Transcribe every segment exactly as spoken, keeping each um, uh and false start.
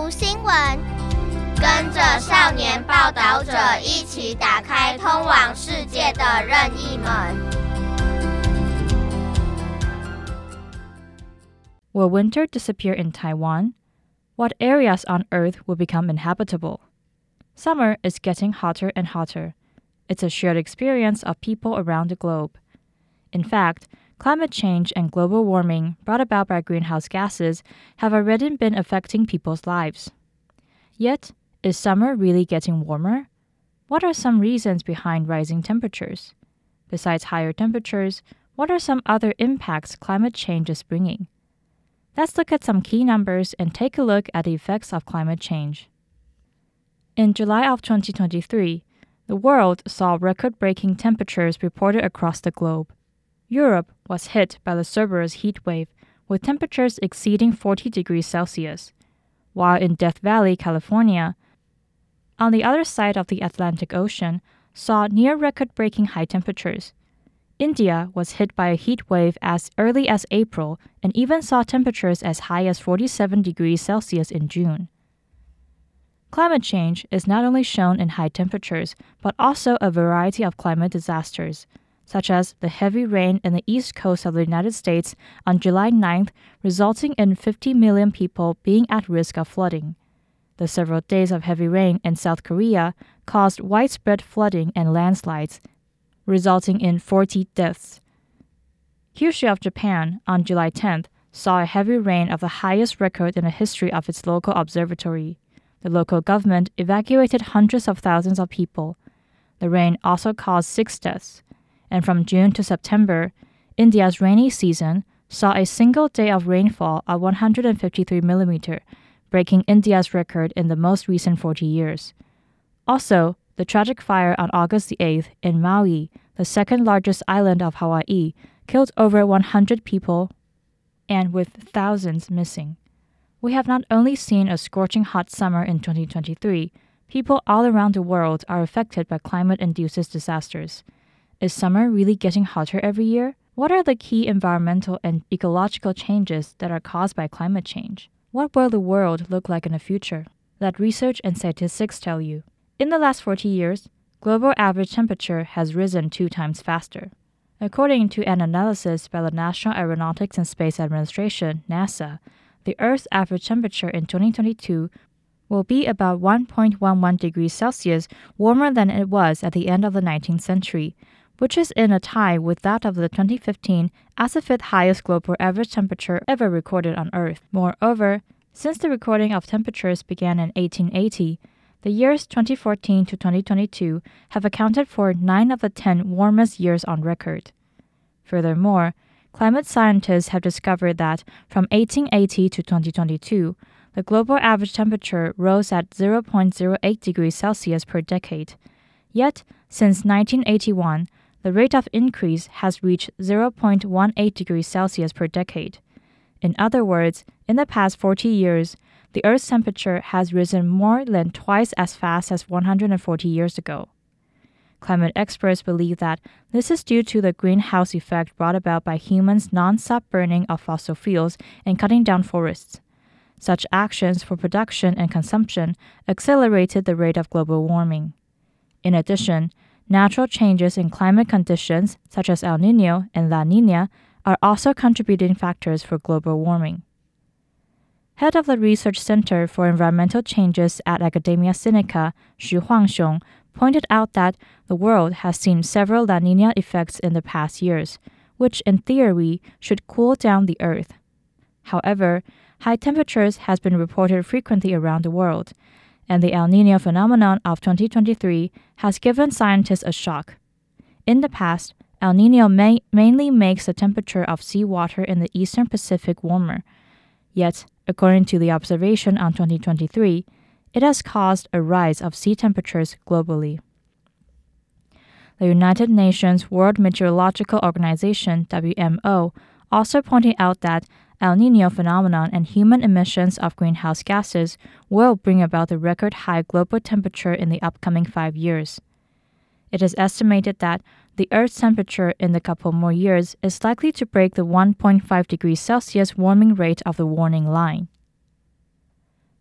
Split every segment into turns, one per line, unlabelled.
讀新聞，跟着少年報導者一起打開通往世界的任意門。
Will winter disappear in Taiwan? What areas on Earth will become inhabitable? Summer is getting hotter and hotter. It's a shared experience of people around the globe. In fact, climate change and global warming brought about by greenhouse gases have already been affecting people's lives. Yet, is summer really getting warmer? What are some reasons behind rising temperatures? Besides higher temperatures, what are some other impacts climate change is bringing? Let's look at some key numbers and take a look at the effects of climate change. In July of twenty twenty-three, the world saw record-breaking temperatures reported across the globe. Europe was hit by the Cerberus heat wave, with temperatures exceeding forty degrees Celsius, while in Death Valley, California, on the other side of the Atlantic Ocean, saw near record-breaking high temperatures. India was hit by a heat wave as early as April and even saw temperatures as high as forty-seven degrees Celsius in June. Climate change is not only shown in high temperatures, but also a variety of climate disasters, such as the heavy rain in the east coast of the United States on July ninth, resulting in fifty million people being at risk of flooding. The several days of heavy rain in South Korea caused widespread flooding and landslides, resulting in forty deaths. Kyushu of Japan, on July tenth, saw a heavy rain of the highest record in the history of its local observatory. The local government evacuated hundreds of thousands of people. The rain also caused six deaths. And from June to September, India's rainy season saw a single day of rainfall of one hundred fifty-three millimeters, breaking India's record in the most recent forty years. Also, the tragic fire on August the eighth in Maui, the second largest island of Hawaii, killed over one hundred people and with thousands missing. We have not only seen a scorching hot summer in twenty twenty-three, people all around the world are affected by climate-induced disasters. Is summer really getting hotter every year? What are the key environmental and ecological changes that are caused by climate change? What will the world look like in the future? Let research and statistics tell you. In the last forty years, global average temperature has risen two times faster. According to an analysis by the National Aeronautics and Space Administration, NASA, the Earth's average temperature in twenty twenty-two will be about one point one one degrees Celsius warmer than it was at the end of the nineteenth century, which is in a tie with that of the twenty fifteen as the fifth highest global average temperature ever recorded on Earth. Moreover, since the recording of temperatures began in eighteen eighty, the years twenty fourteen to twenty twenty-two have accounted for nine of the ten warmest years on record. Furthermore, climate scientists have discovered that from eighteen eighty to twenty twenty-two, the global average temperature rose at zero point zero eight degrees Celsius per decade. Yet, since nineteen eighty-one, the rate of increase has reached zero point one eight degrees Celsius per decade. In other words, in the past forty years, the Earth's temperature has risen more than twice as fast as one hundred forty years ago. Climate experts believe that this is due to the greenhouse effect brought about by humans' non-stop burning of fossil fuels and cutting down forests. Such actions for production and consumption accelerated the rate of global warming. In addition, natural changes in climate conditions, such as El Niño and La Niña, are also contributing factors for global warming. Head of the Research Center for Environmental Changes at Academia Sinica, Xu Huangxiong, pointed out that the world has seen several La Niña effects in the past years, which in theory should cool down the Earth. However, high temperatures has been reported frequently around the world, and the El Niño phenomenon of twenty twenty-three has given scientists a shock. In the past, El Niño may, mainly makes the temperature of seawater in the eastern Pacific warmer. Yet, according to the observation on twenty twenty-three, it has caused a rise of sea temperatures globally. The United Nations World Meteorological Organization, W M O, also pointed out that El Niño phenomenon and human emissions of greenhouse gases will bring about the record high global temperature in the upcoming five years. It is estimated that the Earth's temperature in a couple more years is likely to break the one point five degrees Celsius warming rate of the warning line.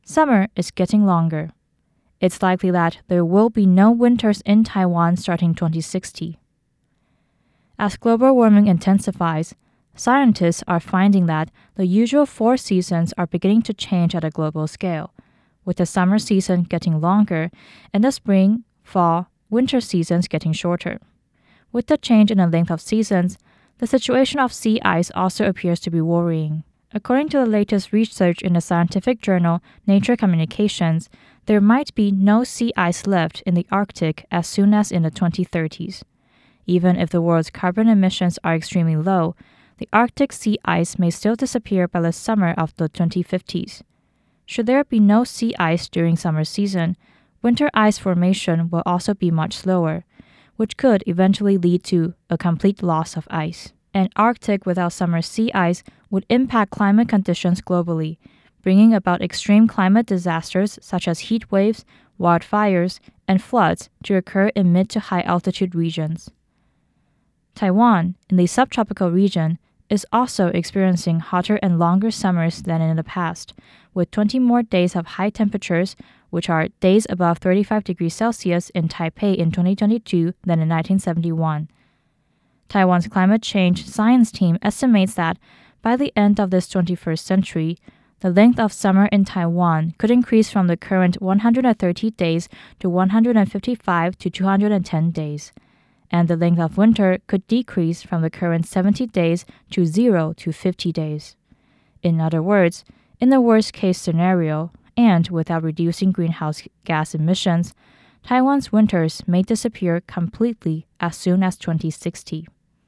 Summer is getting longer. It's likely that there will be no winters in Taiwan starting twenty sixty. As global warming intensifies, scientists are finding that the usual four seasons are beginning to change at a global scale, with the summer season getting longer and the spring, fall, winter seasons getting shorter. With the change in the length of seasons, the situation of sea ice also appears to be worrying. According to the latest research in the scientific journal Nature Communications, there might be no sea ice left in the Arctic as soon as in the twenty thirties. Even if the world's carbon emissions are extremely low, the Arctic sea ice may still disappear by the summer of the twenty fifties. Should there be no sea ice during summer season, winter ice formation will also be much slower, which could eventually lead to a complete loss of ice. An Arctic without summer sea ice would impact climate conditions globally, bringing about extreme climate disasters such as heat waves, wildfires, and floods to occur in mid to high altitude regions. Taiwan, in the subtropical region, is also experiencing hotter and longer summers than in the past, with twenty more days of high temperatures, which are days above thirty-five degrees Celsius in Taipei in twenty twenty-two than in nineteen seventy-one. Taiwan's climate change science team estimates that by the end of this twenty-first century, the length of summer in Taiwan could increase from the current one hundred thirty days to one hundred fifty-five to two hundred ten days, and the length of winter could decrease from the current seventy days to zero to fifty days. In other words, in the worst-case scenario, and without reducing greenhouse gas emissions, Taiwan's winters may disappear completely as soon as twenty sixty.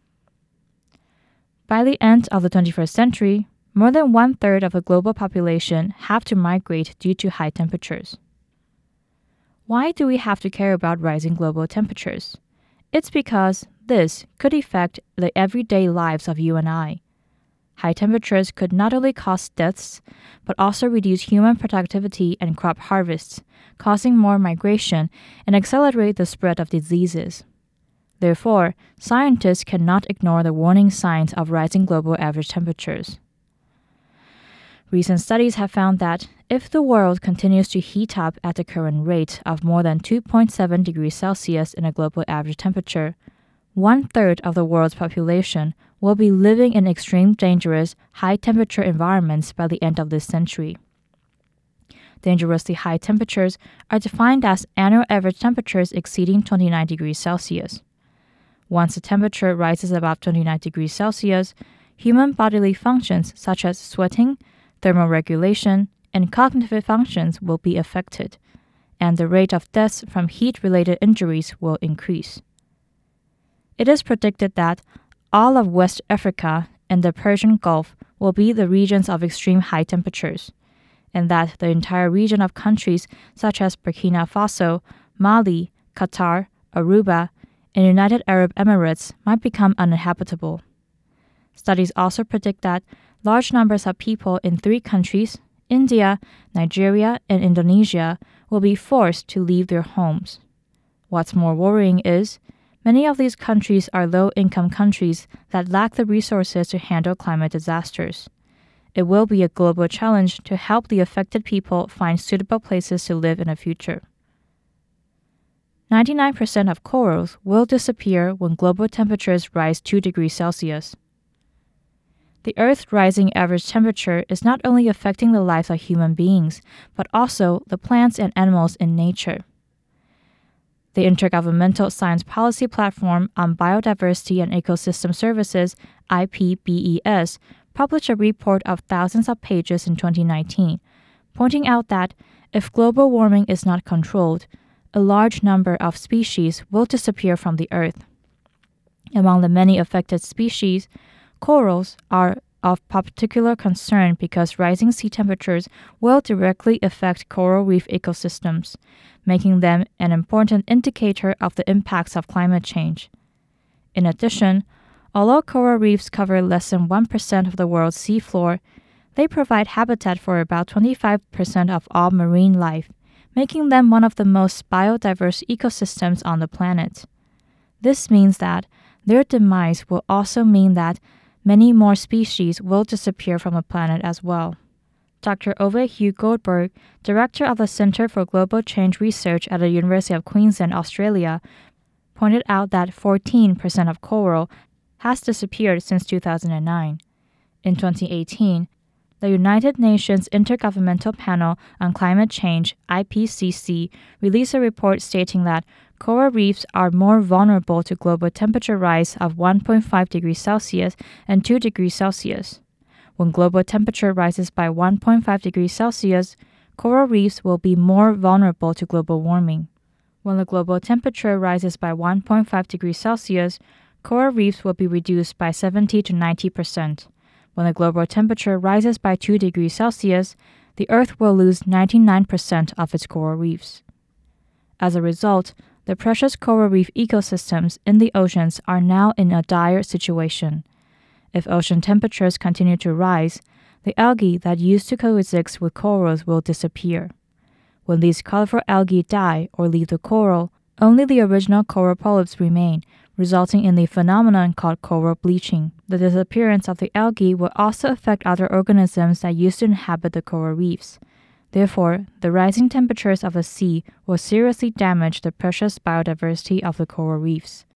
By the end of the twenty-first century, more than one-third of the global population have to migrate due to high temperatures. Why do we have to care about rising global temperatures? It's because this could affect the everyday lives of you and I. High temperatures could not only cause deaths, but also reduce human productivity and crop harvests, causing more migration and accelerate the spread of diseases. Therefore, scientists cannot ignore the warning signs of rising global average temperatures. Recent studies have found that if the world continues to heat up at the current rate of more than two point seven degrees Celsius in a global average temperature, one-third of the world's population will be living in extreme dangerous high-temperature environments by the end of this century. Dangerously high temperatures are defined as annual average temperatures exceeding twenty-nine degrees Celsius. Once the temperature rises above twenty-nine degrees Celsius, human bodily functions such as sweating, thermoregulation, and cognitive functions will be affected, and the rate of deaths from heat-related injuries will increase. It is predicted that all of West Africa and the Persian Gulf will be the regions of extreme high temperatures, and that the entire region of countries such as Burkina Faso, Mali, Qatar, Aruba, and United Arab Emirates might become uninhabitable. Studies also predict that large numbers of people in three countries, India, Nigeria, and Indonesia, will be forced to leave their homes. What's more worrying is, many of these countries are low-income countries that lack the resources to handle climate disasters. It will be a global challenge to help the affected people find suitable places to live in the future. ninety-nine percent of corals will disappear when global temperatures rise two degrees Celsius. The Earth's rising average temperature is not only affecting the lives of human beings, but also the plants and animals in nature. The Intergovernmental Science Policy Platform on Biodiversity and Ecosystem Services, I P B E S, published a report of thousands of pages in twenty nineteen, pointing out that if global warming is not controlled, a large number of species will disappear from the Earth. Among the many affected species, corals are of particular concern because rising sea temperatures will directly affect coral reef ecosystems, making them an important indicator of the impacts of climate change. In addition, although coral reefs cover less than one percent of the world's seafloor, they provide habitat for about twenty-five percent of all marine life, making them one of the most biodiverse ecosystems on the planet. This means that their demise will also mean that many more species will disappear from the planet as well. Doctor Ove Hugh Goldberg, director of the Center for Global Change Research at the University of Queensland, Australia, pointed out that fourteen percent of coral has disappeared since two thousand nine. In twenty eighteen, the United Nations Intergovernmental Panel on Climate Change, I P C C, released a report stating that coral reefs are more vulnerable to global temperature rise of one point five degrees Celsius and two degrees Celsius. When global temperature rises by one point five degrees Celsius, coral reefs will be more vulnerable to global warming. When the global temperature rises by one point five degrees Celsius, coral reefs will be reduced by seventy to ninety percent. When the global temperature rises by two degrees Celsius, the Earth will lose ninety-nine percent of its coral reefs. As a result, the precious coral reef ecosystems in the oceans are now in a dire situation. If ocean temperatures continue to rise, the algae that used to coexist with corals will disappear. When these colorful algae die or leave the coral, only the original coral polyps remain, resulting in the phenomenon called coral bleaching. The disappearance of the algae will also affect other organisms that used to inhabit the coral reefs. Therefore, the rising temperatures of the sea will seriously damage the precious biodiversity of the coral reefs.